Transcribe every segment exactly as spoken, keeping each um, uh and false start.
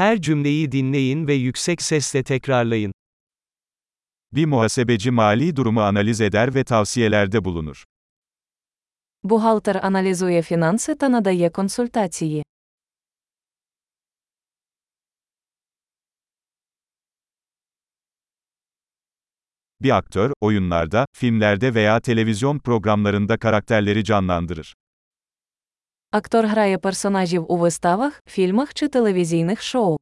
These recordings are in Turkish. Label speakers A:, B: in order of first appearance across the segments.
A: Her cümleyi dinleyin ve yüksek sesle tekrarlayın.
B: Bir muhasebeci mali durumu analiz eder ve tavsiyelerde bulunur.
C: Бухгалтер аналізує фінанси та надає консультації.
B: Bir aktör, oyunlarda, filmlerde veya televizyon programlarında karakterleri canlandırır.
C: Актор грає персонажів у виставах, фільмах чи телевізійних шоу.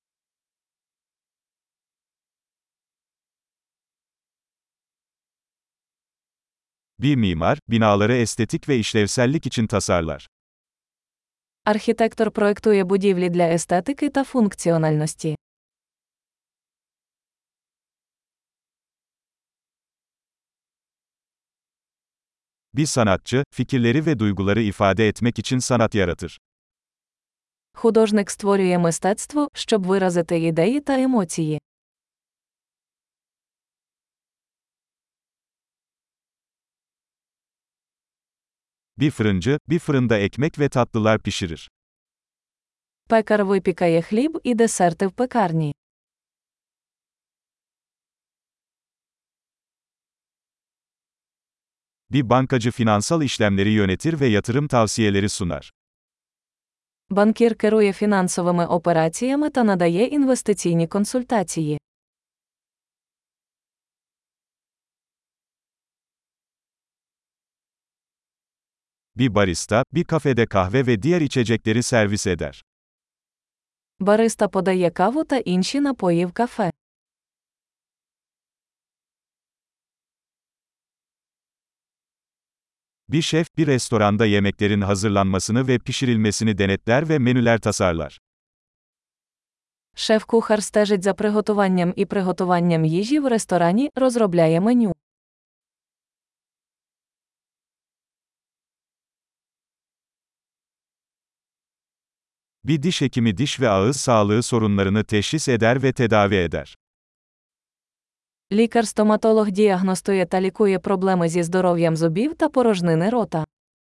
B: Bir mimar, binaları estetik ve işlevsellik için tasarlar.
C: Архітектор проектує будівлі для естетики та функціональності.
B: Bir sanatçı, fikirleri ve duyguları ifade etmek için sanat yaratır.
C: Художник створює мистецтво, щоб виразити ідеї та емоції.
B: Bir fırıncı, bir fırında ekmek ve tatlılar pişirir.
C: Пекар випікає хліб і десерти в пекарні.
B: Bir bankacı finansal işlemleri yönetir ve yatırım tavsiyeleri sunar.
C: Банкір керує фінансовими операціями та надає інвестиційні консультації.
B: Bir barista, bir kafede kahve ve diğer içecekleri servis eder.
C: Бариста подає каву та інші напої в кафе.
B: Bir şef, bir restoranda yemeklerin hazırlanmasını ve pişirilmesini denetler ve menüler tasarlar.
C: Шеф-кухар стежить за приготуванням і приготуванням їжі в ресторані, розробляє меню.
B: Bir diş hekimi diş ve ağız sağlığı sorunlarını teşhis eder ve tedavi eder.
C: Лікар-стоматолог діагностує та лікує проблеми зі здоров'ям зубів та порожнини рота.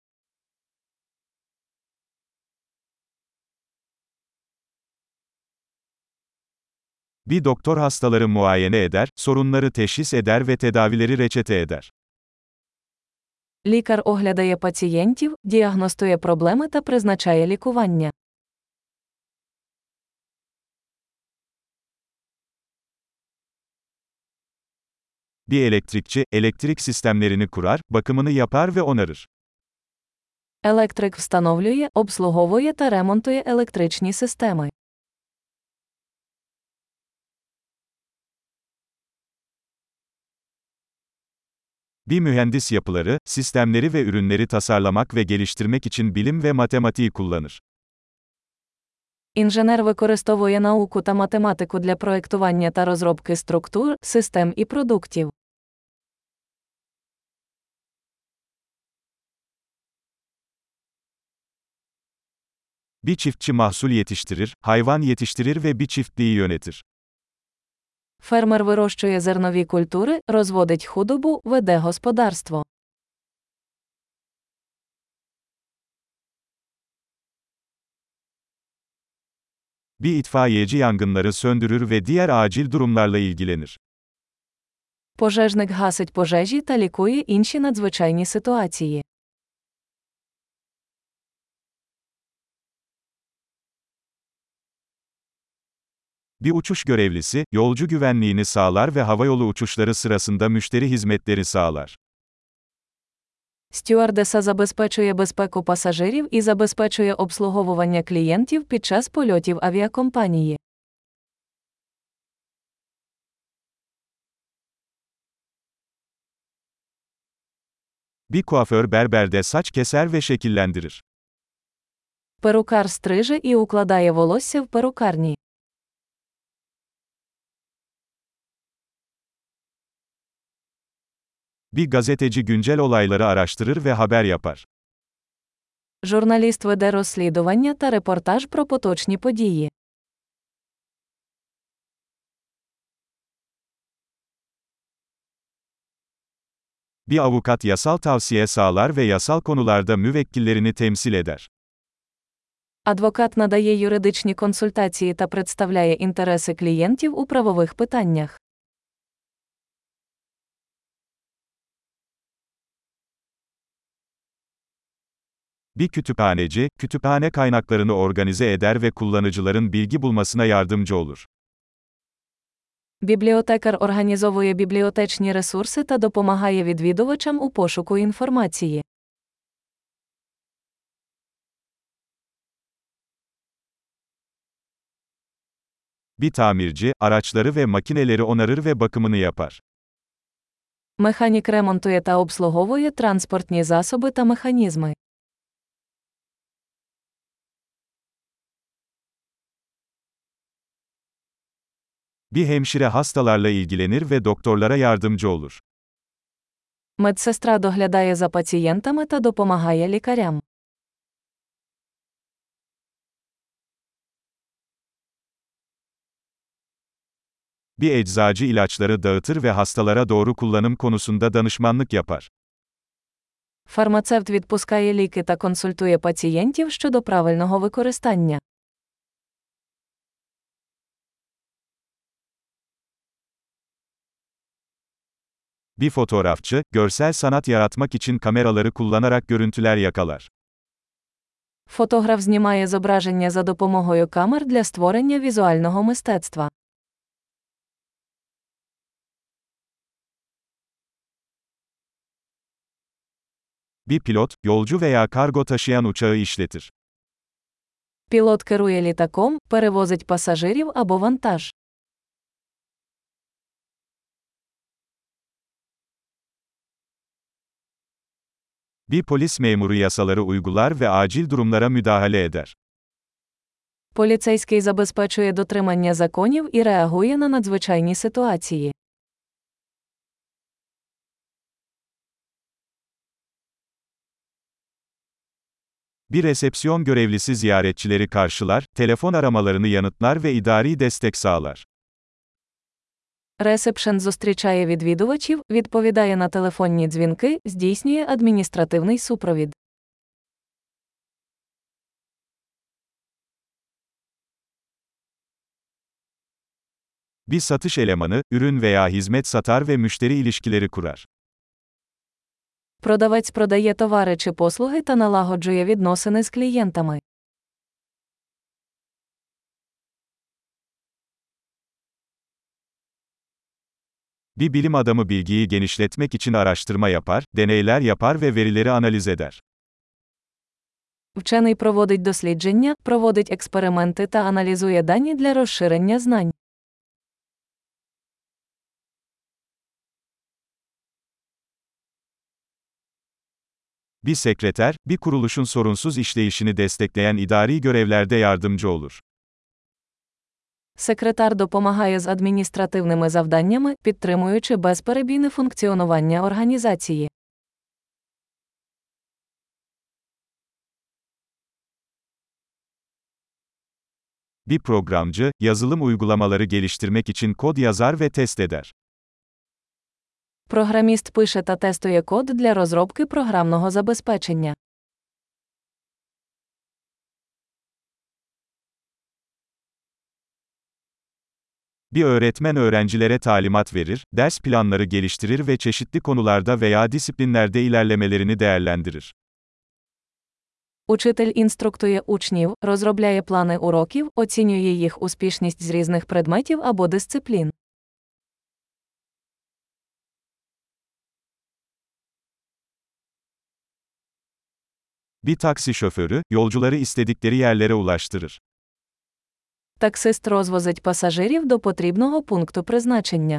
B: Bir doktor hastaları muayene eder, sorunları teşhis eder ve tedavileri reçete eder.
C: Лікар оглядає пацієнтів, діагностує проблеми та призначає лікування.
B: Bir elektrikçi, elektrik sistemlerini kurar, bakımını yapar ve onarır.
C: Електрик встановлює, обслуговує та ремонтує електричні системи.
B: Bir mühendis yapıları, sistemleri ve ürünleri tasarlamak ve geliştirmek için bilim ve matematiği kullanır.
C: Інженер використовує науку та математику для проектування та розробки структур, систем і продуктів.
B: Bir çiftçi mahsul yetiştirir, hayvan yetiştirir ve bir çiftliği yönetir.
C: Фермер вирощує зернові культури, розводить худобу, веде господарство.
B: Bir itfaiyeci yangınları söndürür ve diğer acil durumlarla ilgilenir.
C: Пожежник гасить пожежі та лікує інші надзвичайні ситуації.
B: Bir uçuş görevlisi, yolcu güvenliğini sağlar ve havayolu uçuşları sırasında müşteri hizmetleri sağlar.
C: Стюардеса забезпечує безпеку пасажирів і забезпечує обслуговування клієнтів під час польотів авіакомпанії.
B: Bir kuaför berberde saç keser ve şekillendirir.
C: Перукар стриже і укладає волосся в перукарні.
B: Bir gazeteci güncel olayları araştırır ve haber yapar.
C: Журналіст веде розслідування та репортаж про поточні події.
B: Bir avukat yasal tavsiye sağlar ve yasal konularda müvekkillerini temsil eder.
C: Адвокат надає юридичні консультації та представляє інтереси клієнтів у правових питаннях.
B: Bir kütüphaneci, kütüphane kaynaklarını organize eder ve kullanıcıların bilgi bulmasına yardımcı olur.
C: Бібліотекар організовує бібліотечні ресурси та допомагає відвідувачам у пошуку інформації.
B: Bir tamirci, araçları ve makineleri onarır ve bakımını yapar.
C: Механік ремонтує та обслуговує транспортні засоби та механізми.
B: Bir hemşire hastalarla ilgilenir ve doktorlara yardımcı olur.
C: Медсестра доглядає за пацієнтами та допомагає лікарям.
B: Bir eczacı ilaçları dağıtır ve hastalara doğru kullanım konusunda danışmanlık yapar.
C: Фармацевт відпускає ліки та консультує пацієнтів щодо правильного використання.
B: Bir fotoğrafçı, görsel sanat yaratmak için kameraları kullanarak görüntüler yakalar.
C: Фотограф знімає зображення за допомогою камер для створення візуального мистецтва.
B: Bir pilot, yolcu veya kargo taşıyan uçağı işletir.
C: Пілот керує літаком, перевозить пасажирів або вантаж.
B: Bir polis memuru yasaları uygular ve acil durumlara müdahale eder.
C: Поліцейський забезпечує дотримання законів і реагує на надзвичайні ситуації.
B: Bir resepsiyon görevlisi ziyaretçileri karşılar, telefon aramalarını yanıtlar ve idari destek sağlar.
C: Ресепшен зустрічає відвідувачів, відповідає на телефонні дзвінки, здійснює адміністративний супровід.
B: Bir satış elemanı, ürün veya hizmet satar ve müşteri ilişkileri kurar.
C: Продавець продає товари чи послуги та налагоджує відносини з клієнтами.
B: Bir bilim adamı bilgiyi genişletmek için araştırma yapar, deneyler yapar ve verileri analiz eder.
C: Вчений проводить дослідження, проводить експерименти та аналізує дані для розширення знань.
B: Bir sekreter, bir kuruluşun sorunsuz işleyişini destekleyen idari görevlerde yardımcı olur.
C: Секретар допомагає з адміністративними завданнями, підтримуючи безперебійне функціонування організації.
B: Bir programcı, yazılım uygulamaları geliştirmek için kod yazar ve test eder.
C: Програміст пише та тестує код для розробки програмного забезпечення.
B: Bir öğretmen öğrencilere talimat verir, ders planları geliştirir ve çeşitli konularda veya disiplinlerde ilerlemelerini değerlendirir.
C: Учитель інструктує учнів, розробляє плани уроків, оцінює їх успішність з різних предметів або дисциплін.
B: Bir taksi şoförü, yolcuları istedikleri yerlere ulaştırır.
C: Таксист розвозить пасажирів до потрібного пункту призначення.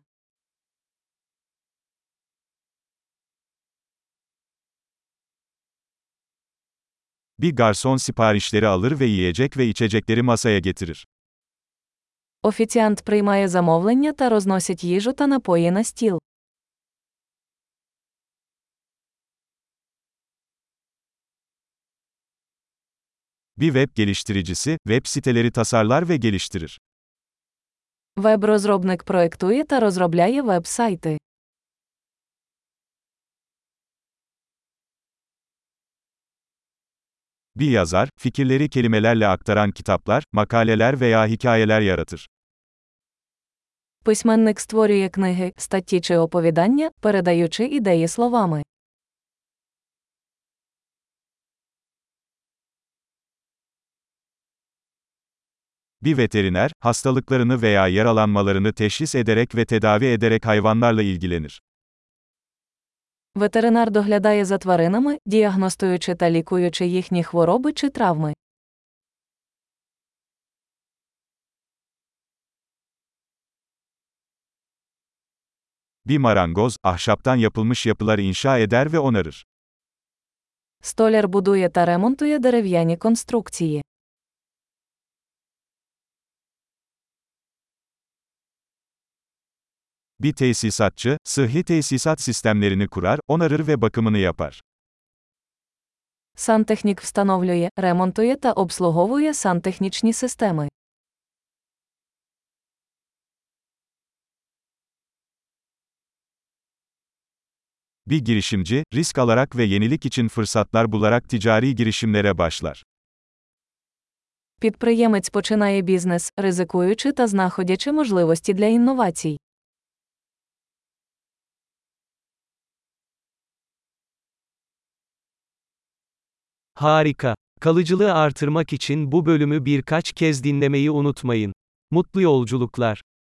B: Bir garson siparişleri alır ve yiyecek ve içecekleri masaya getirir.
C: Офіціант приймає замовлення та розносить їжу та напої на стіл.
B: Bir web geliştiricisi, web siteleri tasarlar ve geliştirir.
C: Веб-розробник проектує та розробляє веб-сайти.
B: Bir yazar, fikirleri kelimelerle aktaran kitaplar, makaleler veya hikayeler yaratır.
C: Письменник створює книги, статті чи оповідання, передаючи ідеї словами.
B: Bir veteriner, hastalıklarını veya yaralanmalarını teşhis ederek ve tedavi ederek hayvanlarla ilgilenir.
C: Ветеринар доглядає за тваринами, діагностуючи та лікуючи їхні хвороби чи травми.
B: Bir marangoz, ahşaptan yapılmış yapılar inşa eder ve onarır.
C: Столяр будує та ремонтує дерев'яні конструкції.
B: Bir tesisatçı, sıhhi tesisat sistemlerini kurar, onarır ve bakımını yapar.
C: Сантехнік встановлює, ремонтує та обслуговує сантехнічні системи.
B: Bir girişimci, risk alarak ve yenilik için fırsatlar bularak ticari girişimlere başlar.
C: Підприємець починає бізнес, ризикуючи та знаходячи можливості для інновацій.
A: Harika. Kalıcılığı artırmak için bu bölümü birkaç kez dinlemeyi unutmayın. Mutlu yolculuklar.